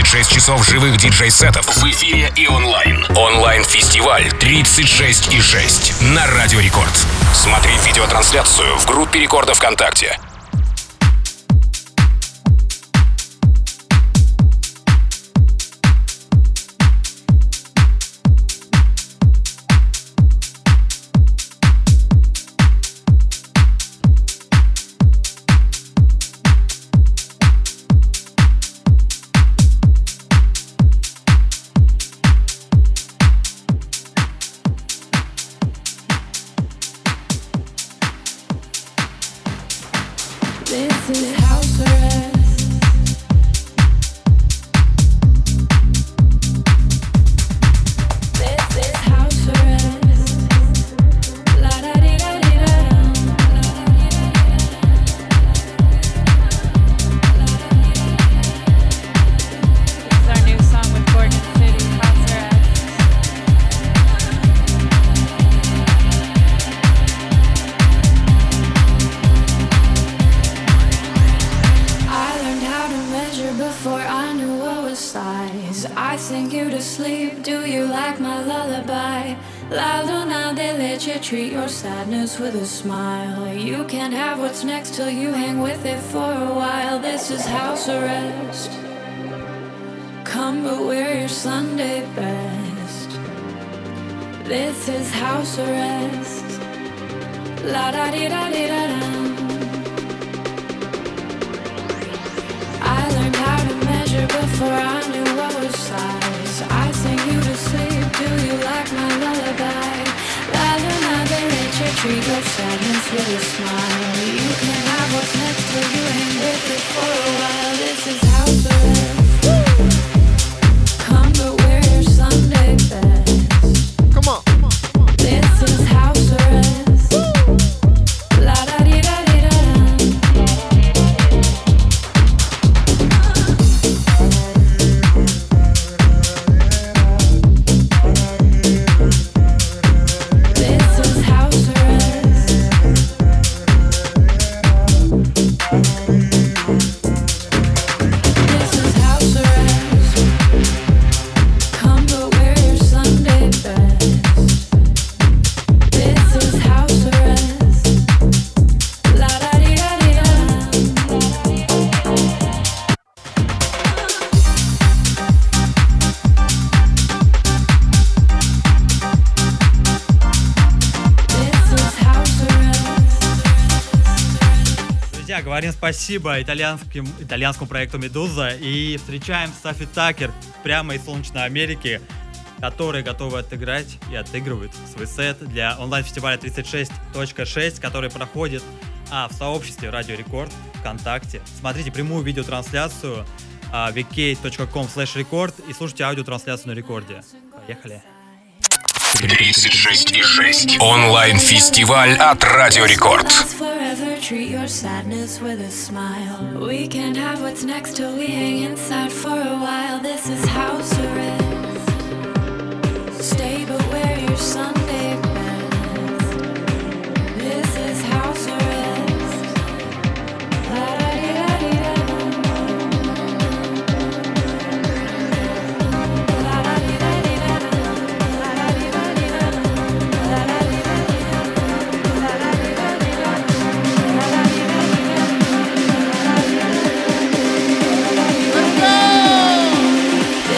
36 часов живых диджей-сетов в эфире и онлайн. Онлайн-фестиваль 36,6 на Радио Рекорд. Смотри видеотрансляцию в группе Рекорда ВКонтакте. With a smile, you can't have what's next till you hang with it for a while. This is house arrest. Come but wear your Sunday best. This is house arrest. La da di da di da da. I learned how to measure before I knew what was size. I sing you to sleep. Do you like my lullaby? La la la, they let you treat your sadness with a smile. You can have what's next till you hang with it for a while. This is house arrest. Come but wear your Sunday best. Come on. This is house arrest. La da di da di da da. Говорим спасибо итальянскому проекту «Медуза» и встречаем Софи Такер прямо из солнечной Америки, которые готовы отыграть и отыгрывают свой сет для онлайн-фестиваля 36.6, который проходит в сообществе Радио Рекорд ВКонтакте. Смотрите прямую видеотрансляцию vk.com/record и слушайте аудиотрансляцию на рекорде. Поехали! 36,6 онлайн-фестиваль от Радио Рекорд. Treat your sadness with a smile. We can't have what's next till we hang inside for a while. This is house arrest. Stay but wear your Sunday best. This is house arrest. La-da-dee-da-dee-da. La-da-dee-da-dee-da. La-da-dee-da-dee-da. Let's go!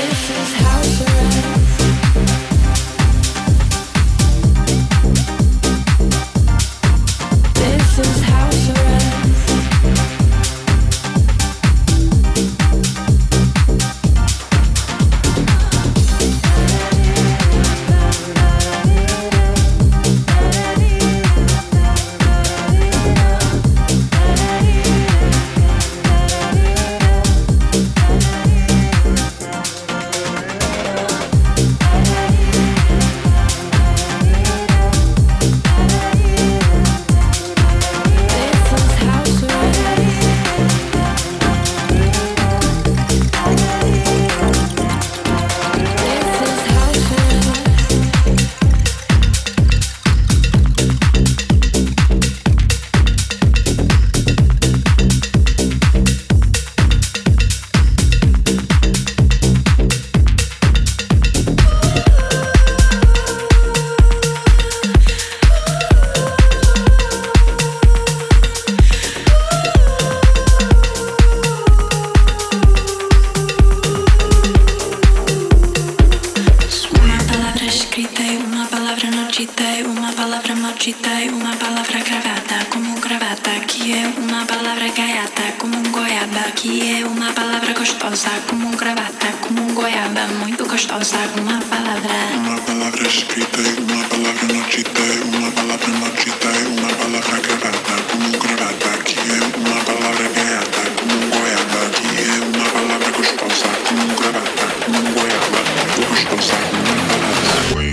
nocita e uma palavra gravada como gravata, que é uma palavra gaiata como goiaba, que é uma palavra gostosa como gravata, como goiaba, muito gostosa, uma palavra escrita e uma palavra nocita e uma palavra nocita e uma palavra gravada como gravata, que é uma palavra gaiata como goiaba, que é uma palavra gostosa como gravata, como goiaba, muito gostosa, uma palavra.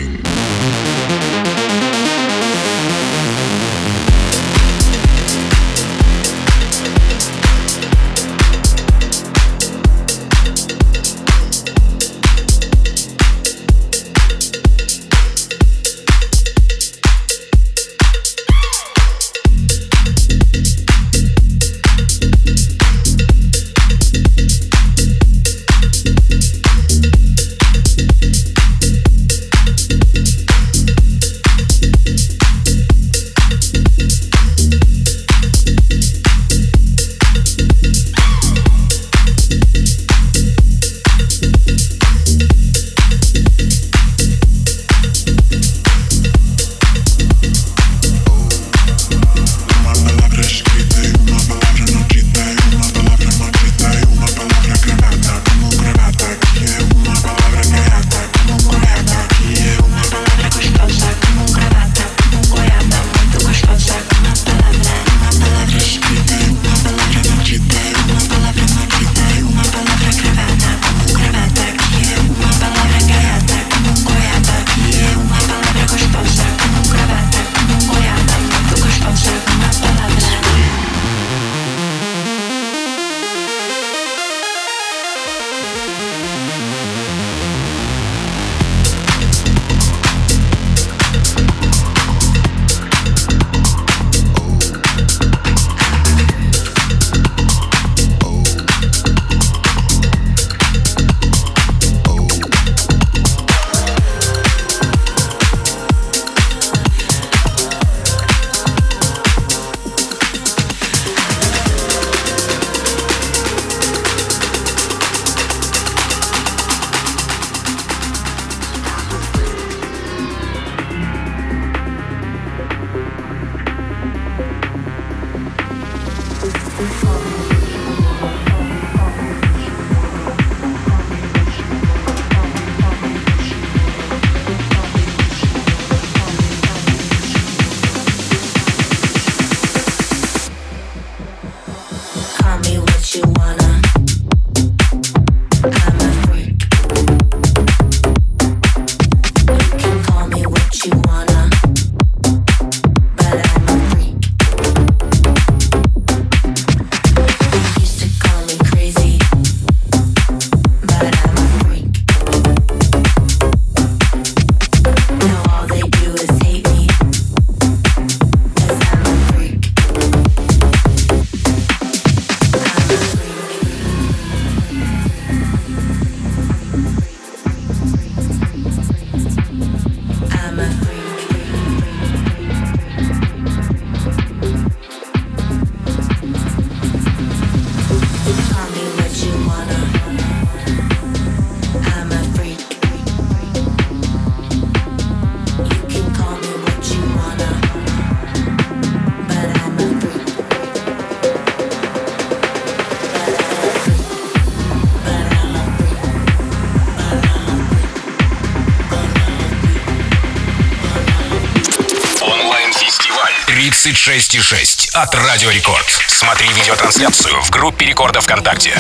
«36,6» от Радио Рекорд. Смотри видеотрансляцию в группе Рекорда ВКонтакте.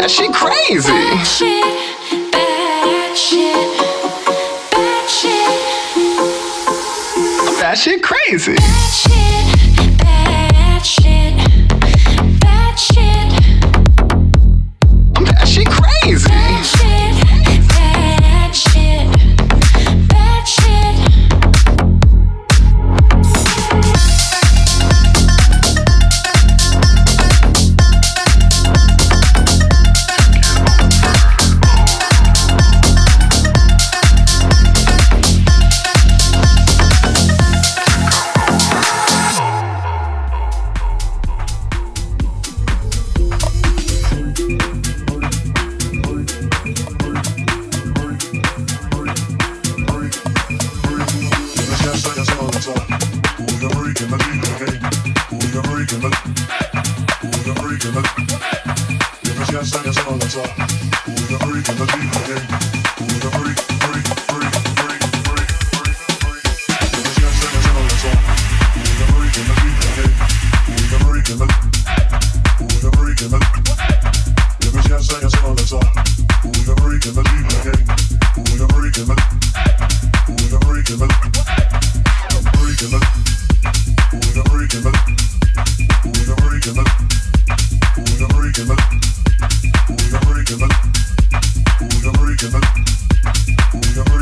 That shit crazy. Bad shit, bad shit, bad shit. That shit crazy. Bad shit, bad shit, bad shit. That shit crazy. Bad shit, bad shit, bad shit. We're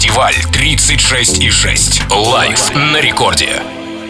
Онлайн-фестиваль 36,6. Лайв на рекорде.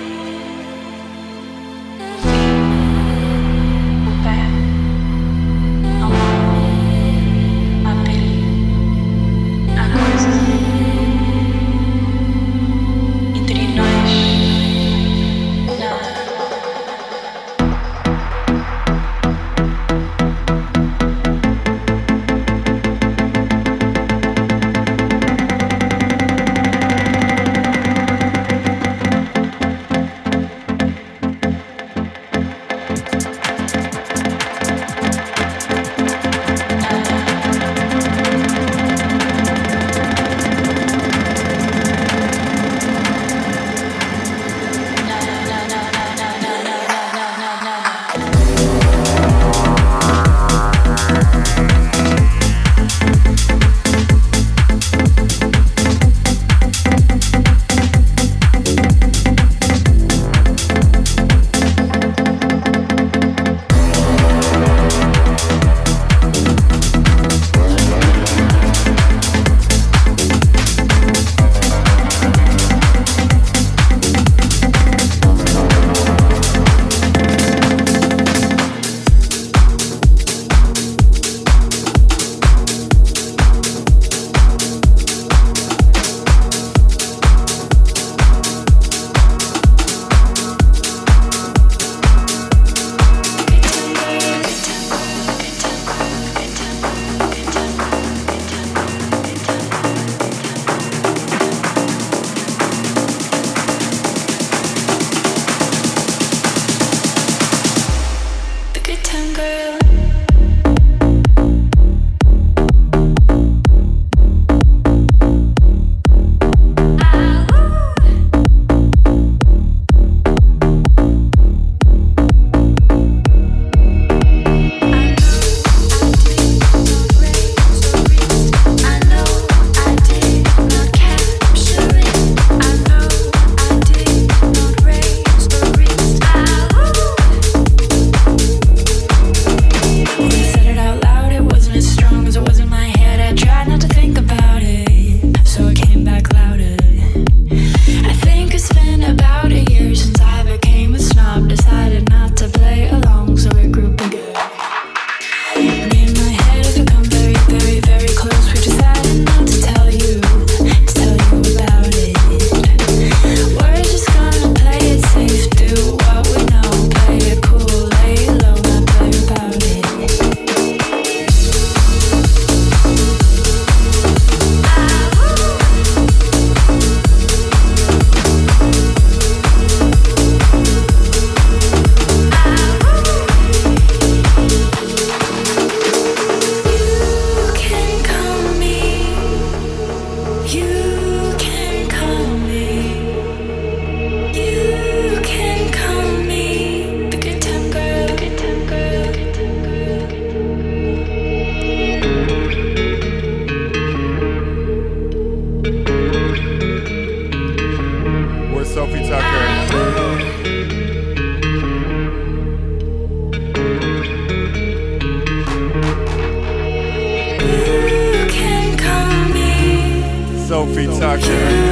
Sophie Tucker.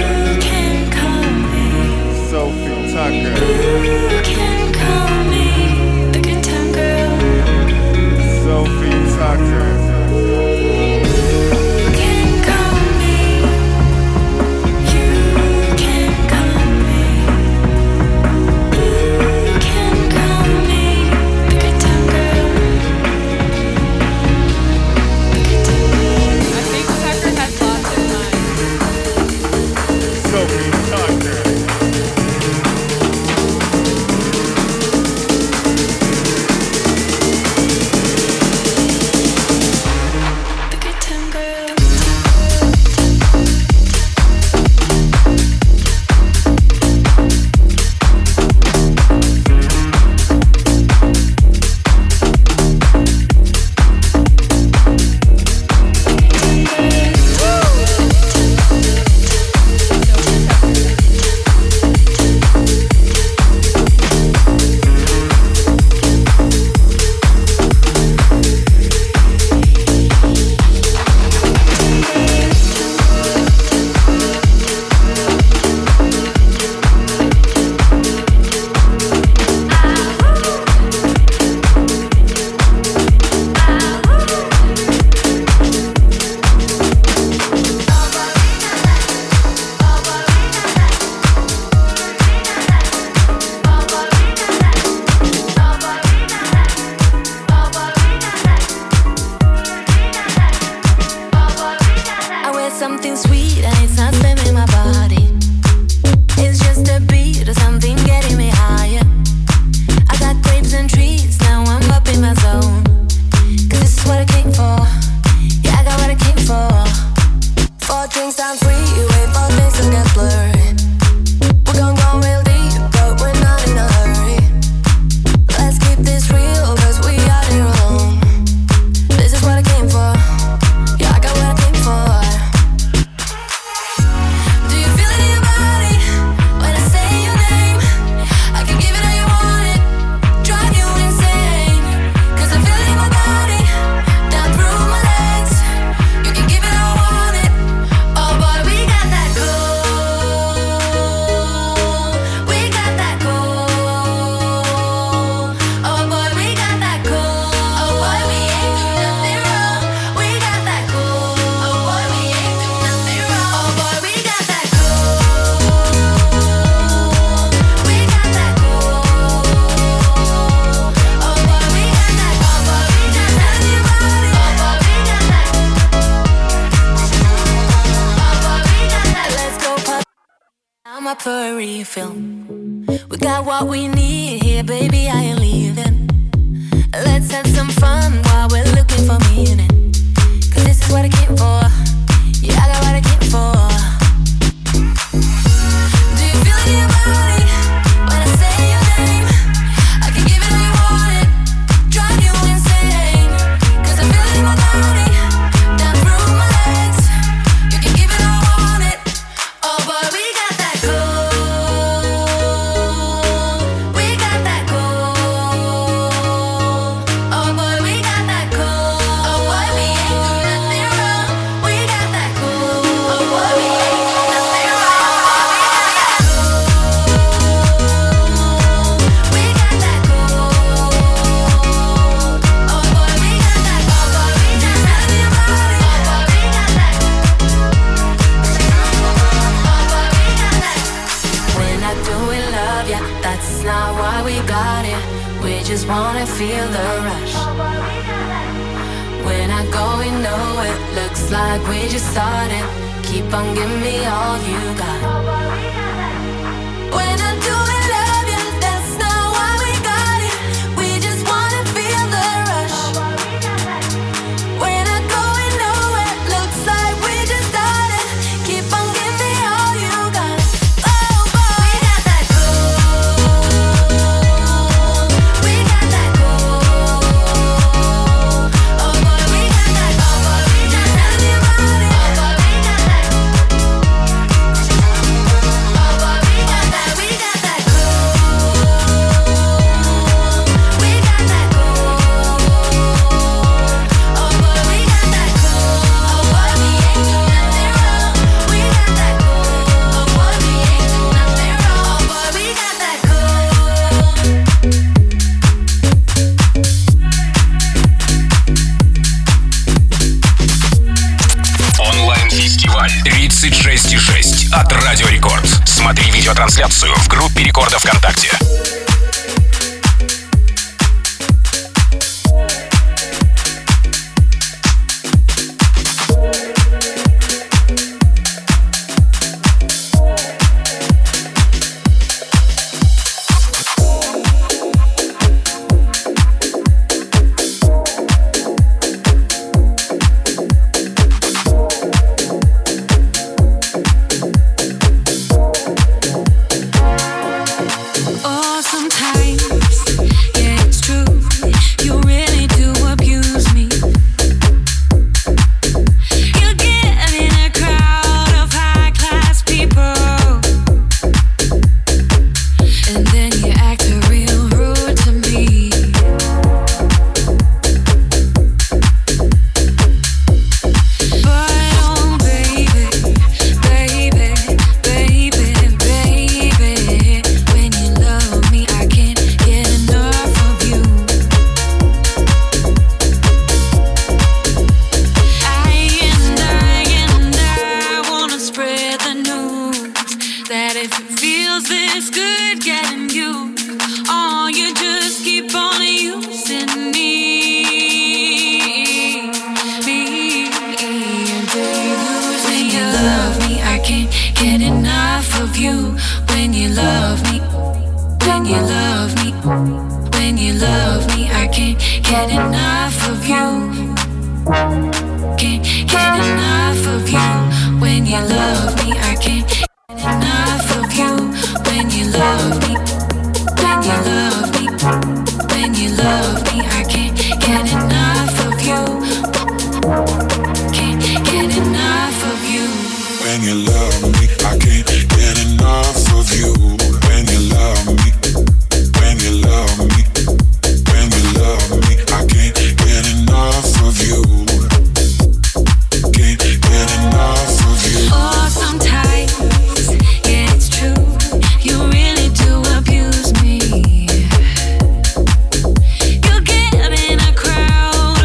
Sophie Tucker. Sophie Tucker. up for a refill. We got what we need here, baby, I ain't leaving. Let's have some fun while we're looking for meaning. Cause this is what I came for. Yeah, I got what I came for. Do you feel it in your body when I say your name? I can give it all you want it, drive you insane. Cause I feel it in my body, down through my legs. You can give it all I want it. Oh boy, we got that gold. We got that gold. Oh boy, we got that gold. Oh boy, we ain't do nothing wrong. We got that gold. Oh boy, we ain't do nothing wrong. We got that gold. Oh boy, we got that gold. Oh boy, we got that gold. We're not doing love, yeah, that's not why we got it. We just wanna feel the rush. We're not going nowhere, looks like we just started. Keep on giving me all you got. We're not doing love, yeah, that's not why we got it. We just wanna feel the rush. We're not going nowhere, looks like we just started. Keep on giving me all you got. Oh boy, we got that gold. We got that gold. Oh boy, we got that gold. Oh boy, we got that gold. Oh boy, we got that. Oh boy, we got that. We got that gold. We got that gold. Oh boy, we got that gold. Oh boy, we ain't do nothing wrong. We got that gold. Oh boy, we ain't do nothing wrong. Oh boy, we got that gold. Онлайн-фестиваль 36,6 от Радио Рекорд. Смотри видеотрансляцию в группе Рекорда ВКонтакте. Oh, sometimes, yeah, it's true. You really do abuse me. You get in a crowd of high-class people, and then you act real rude to me. But oh, baby, baby, baby, baby, when you love me, I can't get enough of you. I wanna spread the news that if it feels this good getting you, oh, you just keep on using me. And when you love me, I can't get enough of you. When you love me, when you love me, when you love me, I can't get enough of you. Can't get enough of you. When you love me, I can't get enough of you. When you love me, when you love me, when you love me, I can't get enough of you. Can't get enough of you. When you love me, I can't get enough of you. When you love me, when you love me, when you love me, I can't get enough of you. Can't get enough of you. Oh, sometimes, yeah, it's true. You really do abuse me. You get in a crowd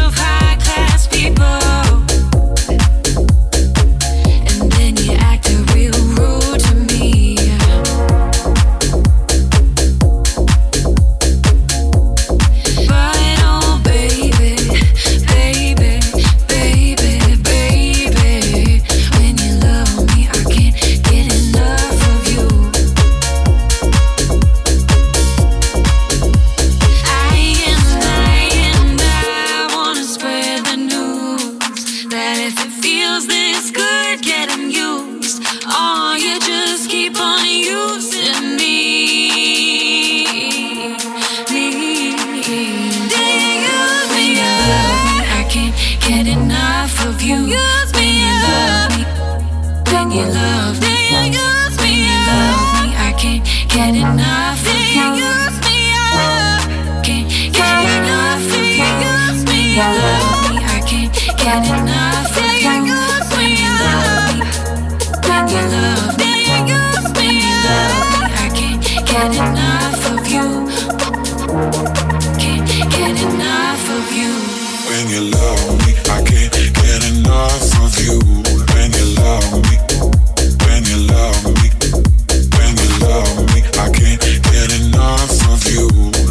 get enough of you. When you love me, when you love me, when you love me, I can't get enough of you. Can't get enough of you. When you love me, I can't get enough of you. When you love me, when you love me, when you love me, I can't get enough of you.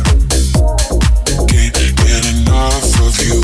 Can't get enough of you.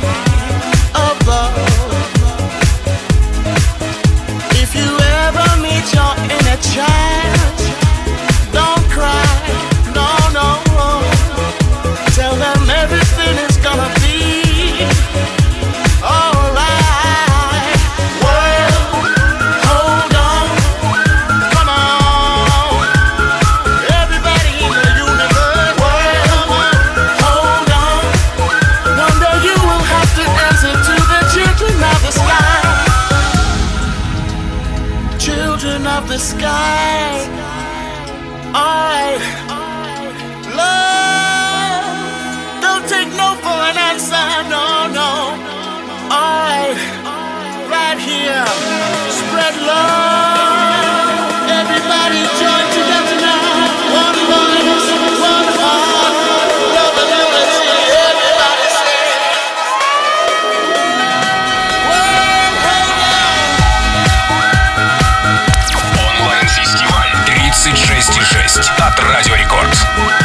If you ever meet the sky. Alright, love, don't take no for an answer, no, no. Alright, right here, spread love. Everybody join together now. One voice, one heart, love and unity. Everybody say. Онлайн-фестиваль 36,6 от Радио Рекорд.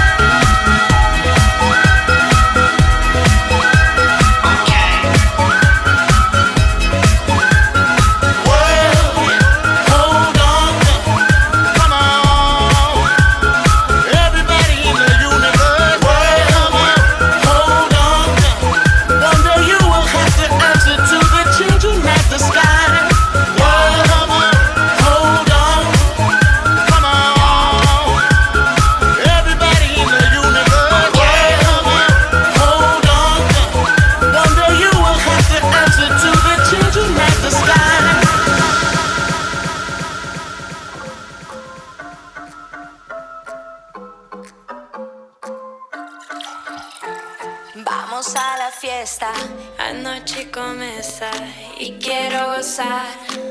Vamos a la fiesta, anoche comienza y quiero gozar.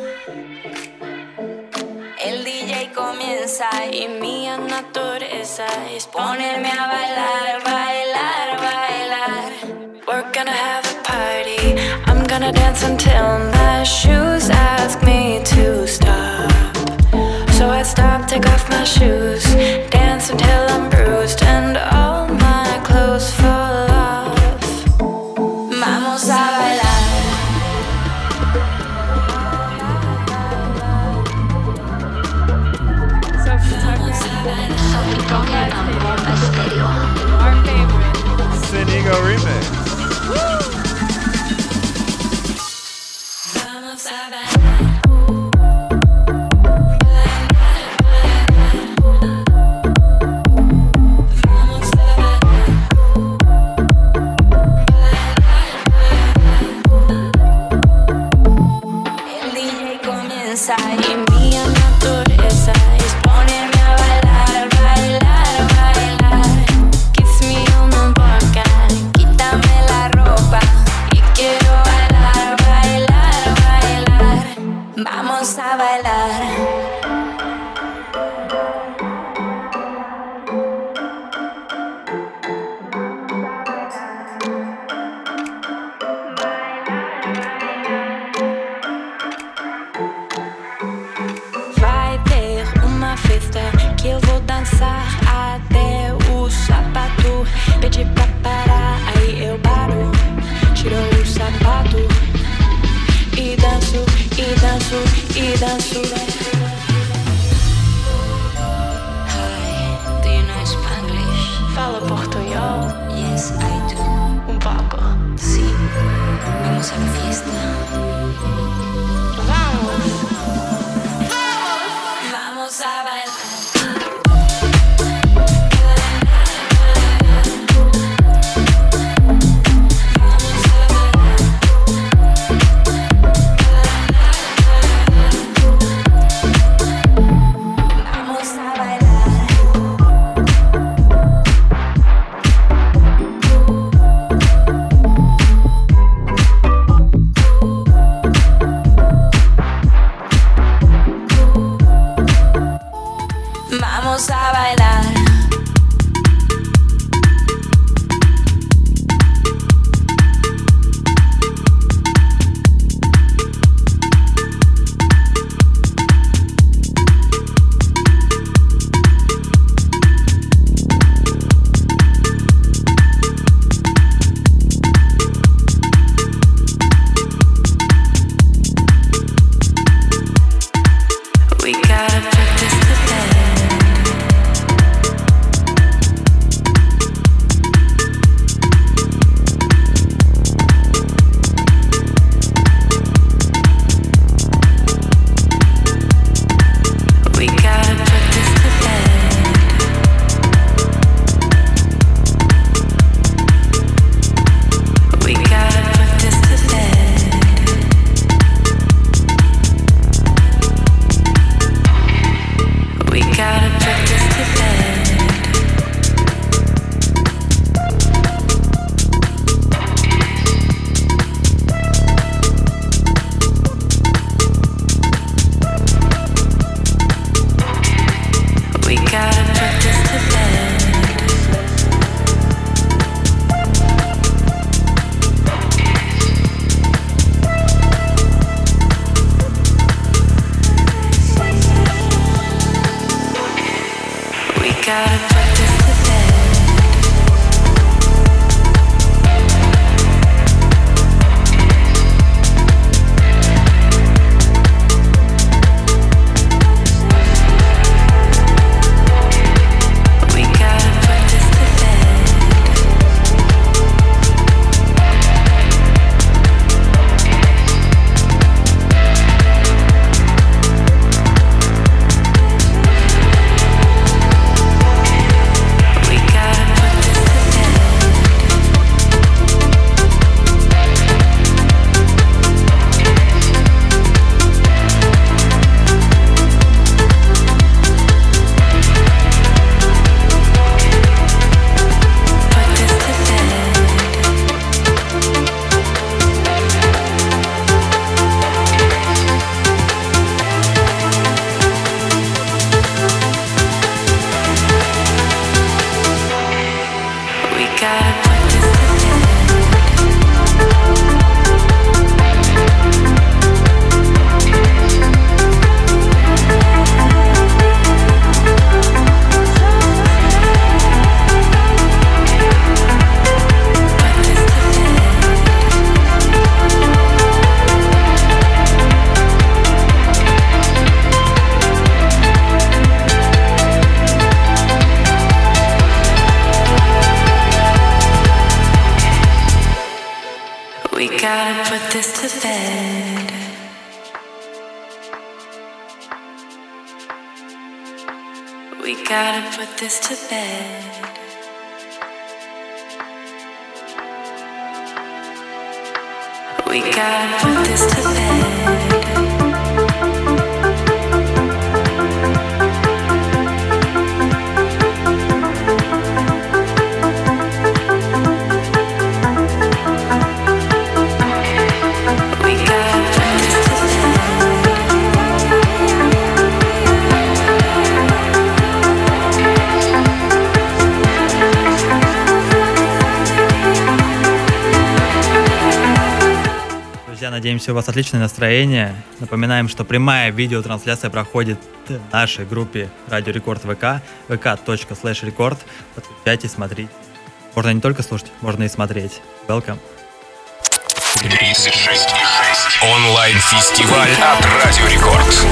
El DJ comienza y mi naturaleza es ponerme a bailar, bailar, bailar. We're gonna have a party, I'm gonna dance until my shoes ask me to stop. So I stop, take off my shoes, dance until I'm bruised and all my clothes fall off. Vamos a bailar. Sophie Tucker on Bomba Stereo. Our favorite. Sinigo remix. Vamos a bailar. Y mi naturaleza es ponerme a bailar, bailar, bailar. Kiss me on the boca, quítame la ropa y quiero bailar, bailar, bailar. Vamos a bailar. Que eu vou dançar até o sapato pedir pra parar, aí eu paro, tiro o sapato e danço, e danço, e danço. Hi, do you know Spanglish? Fala portunhol? Yes, I do. Pouco? Sim. Vamos a la fiesta. Vamos. Vamos a bailar. We gotta put this to bed. We gotta put this to bed. Надеемся, у вас отличное настроение. Напоминаем, что прямая видеотрансляция проходит в нашей группе Радио Рекорд ВК, vk.com/record. Подключайтесь, смотрите. Можно не только слушать, можно и смотреть. Welcome. 36,6. Онлайн-фестиваль от Радио Рекорд.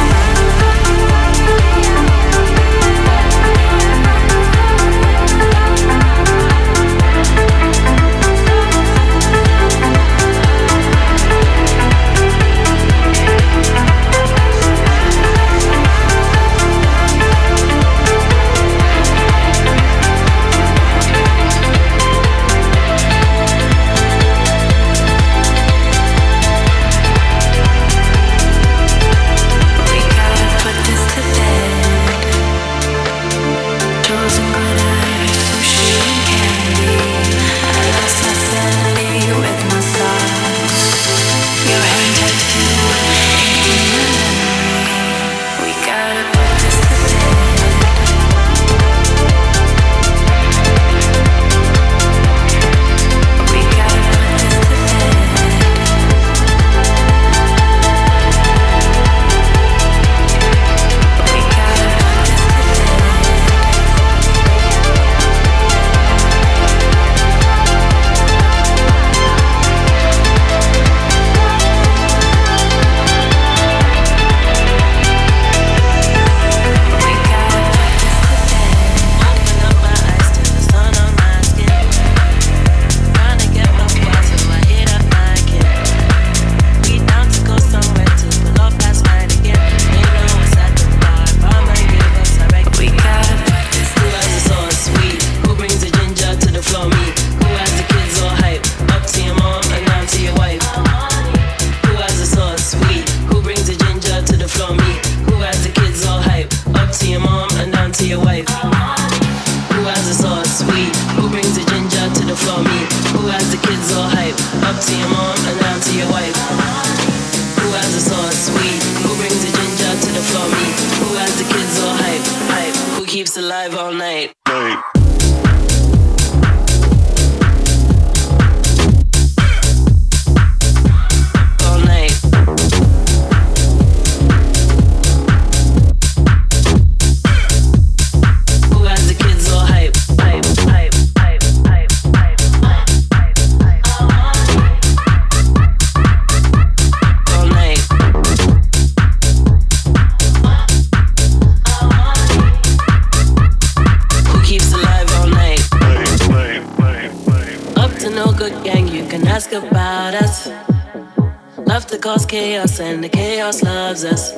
Chaos and the chaos loves us.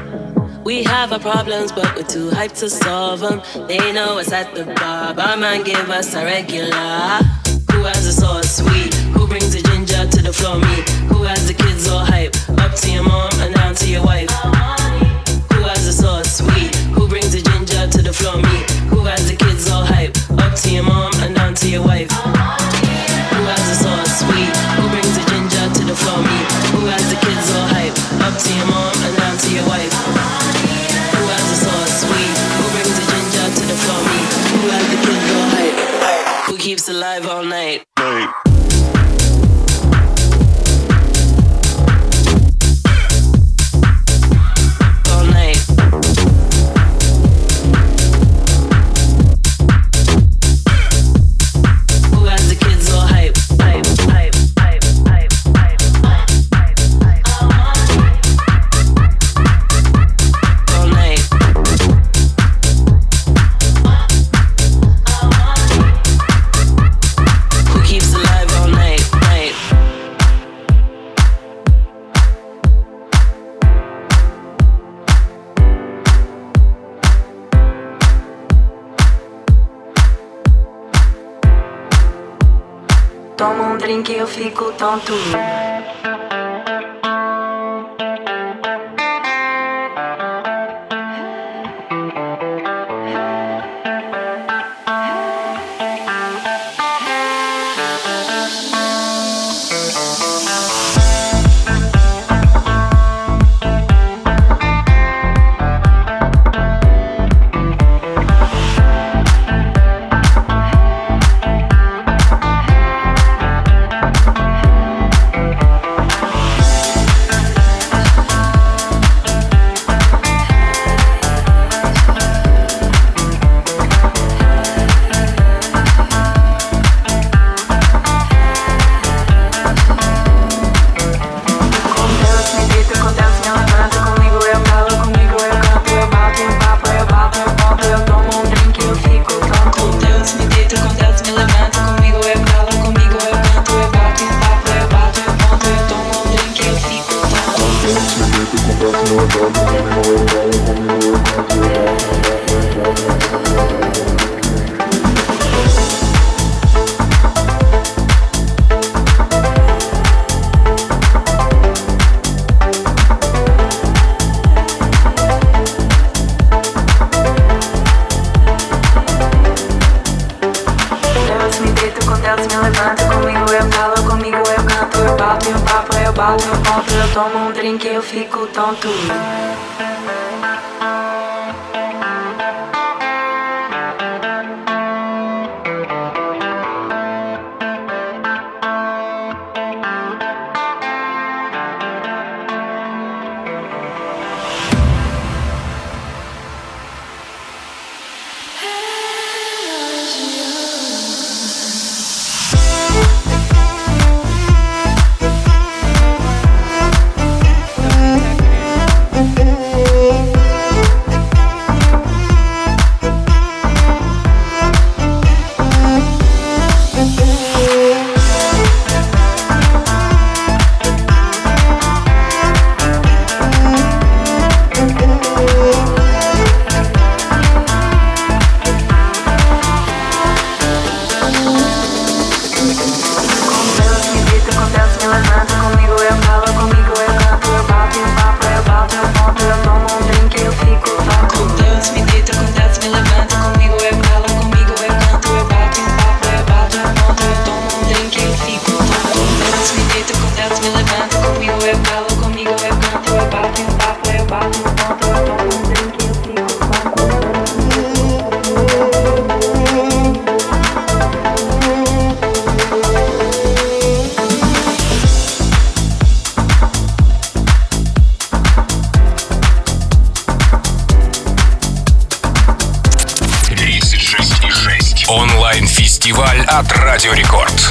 We have our problems, but we're too hyped to solve them. They know us at the bar. Barman give us a regular. Who has a sauce sweet? Who brings the ginger to the floor? Me. Who has the kids all hype? Up to your mom and down to your wife. Who has a sauce sweet? Who brings the ginger to the floor? Me. Who has the kids all hype? Up to your mom and down to your wife. Who has a sauce sweet? Who brings the ginger to the floor? Me. Who has the kids all hype? Up to your mom and down to your wife. Who has the sauce sweet? Who brings the ginger to the floor? Me. Who has the kids all hype? Who keeps alive all night? tomo drink e eu fico tonto. Tonto. Онлайн-фестиваль от Радио Рекорд.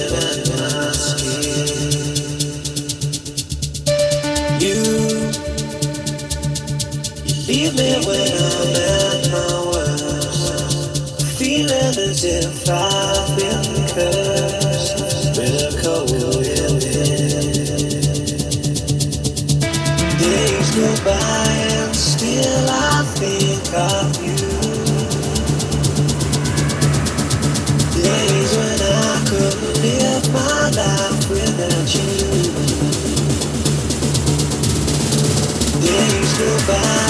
shivering at my skin. You leave me when I'm at my worst, feeling as if I've been cursed with a cold wind. Days go by and still I think of you. Days when I couldn't live my life without you. Days go by